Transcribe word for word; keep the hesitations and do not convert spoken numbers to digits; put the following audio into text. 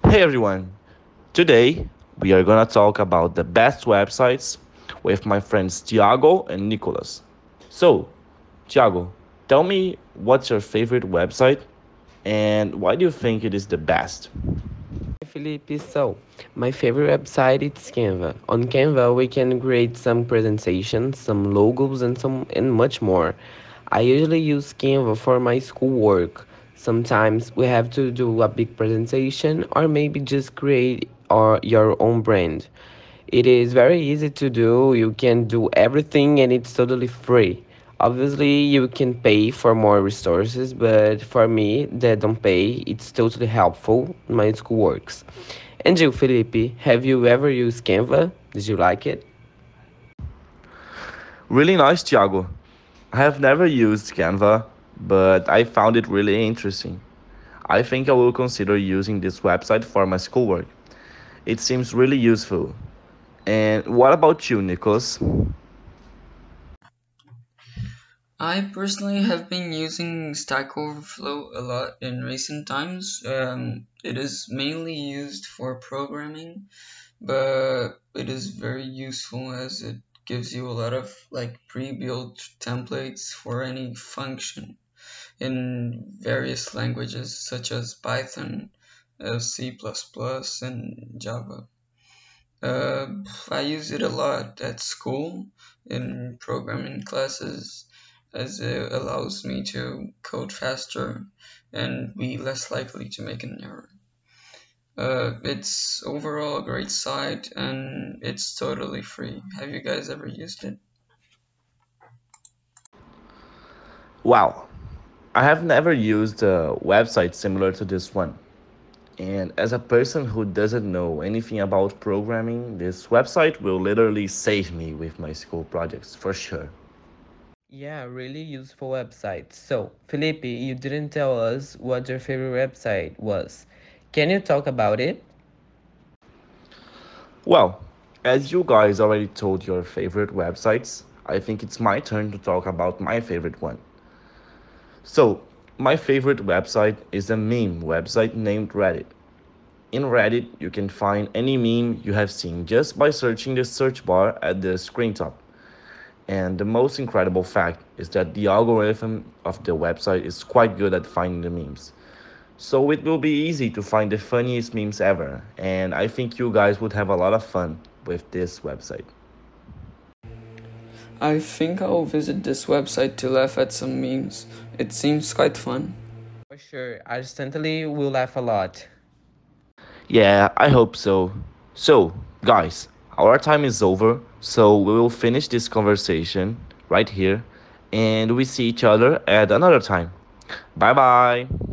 Hey everyone, today we are gonna talk about the best websites with my friends Tiago and Nicolas. So, Tiago, tell me what's your favorite website and why do you think it is the best? Felipe, so my favorite website is Canva. On Canva, we can create some presentations, some logos, and some and much more. I usually use Canva for my schoolwork. Sometimes we have to do a big presentation, or maybe just create our, your own brand. It is very easy to do. You can do everything, and it's totally free. Obviously, you can pay for more resources, but for me, that don't pay, it's totally helpful in my school works. And you, Felipe, have you ever used Canva? Did you like it? Really nice, Tiago. I have never used Canva, but I found it really interesting. I think I will consider using this website for my schoolwork. It seems really useful. And what about you, Nicholas? I personally have been using Stack Overflow a lot in recent times. Um, it is mainly used for programming, but it is very useful as it gives you a lot of like pre-built templates for any function in various languages such as Python, uh, C++, and Java. Uh, I use it a lot at school in programming classes as it allows me to code faster and be less likely to make an error. Uh, it's overall a great site and it's totally free. Have you guys ever used it? Wow, I have never used a website similar to this one. And as a person who doesn't know anything about programming, this website will literally save me with my school projects for sure. Yeah, really useful website. So, Felipe, you didn't tell us what your favorite website was. Can you talk about it? Well, as you guys already told your favorite websites, I think it's my turn to talk about my favorite one. So, my favorite website is a meme website named Reddit. In Reddit, you can find any meme you have seen just by searching the search bar at the screen top. And the most incredible fact is that the algorithm of the website is quite good at finding the memes. So it will be easy to find the funniest memes ever, and I think you guys would have a lot of fun with this website. I think I'll visit this website to laugh at some memes. It seems quite fun. For sure, I instantly will laugh a lot. Yeah, I hope so. So, guys, our time is over, so we will finish this conversation right here, and we see each other at another time. Bye bye.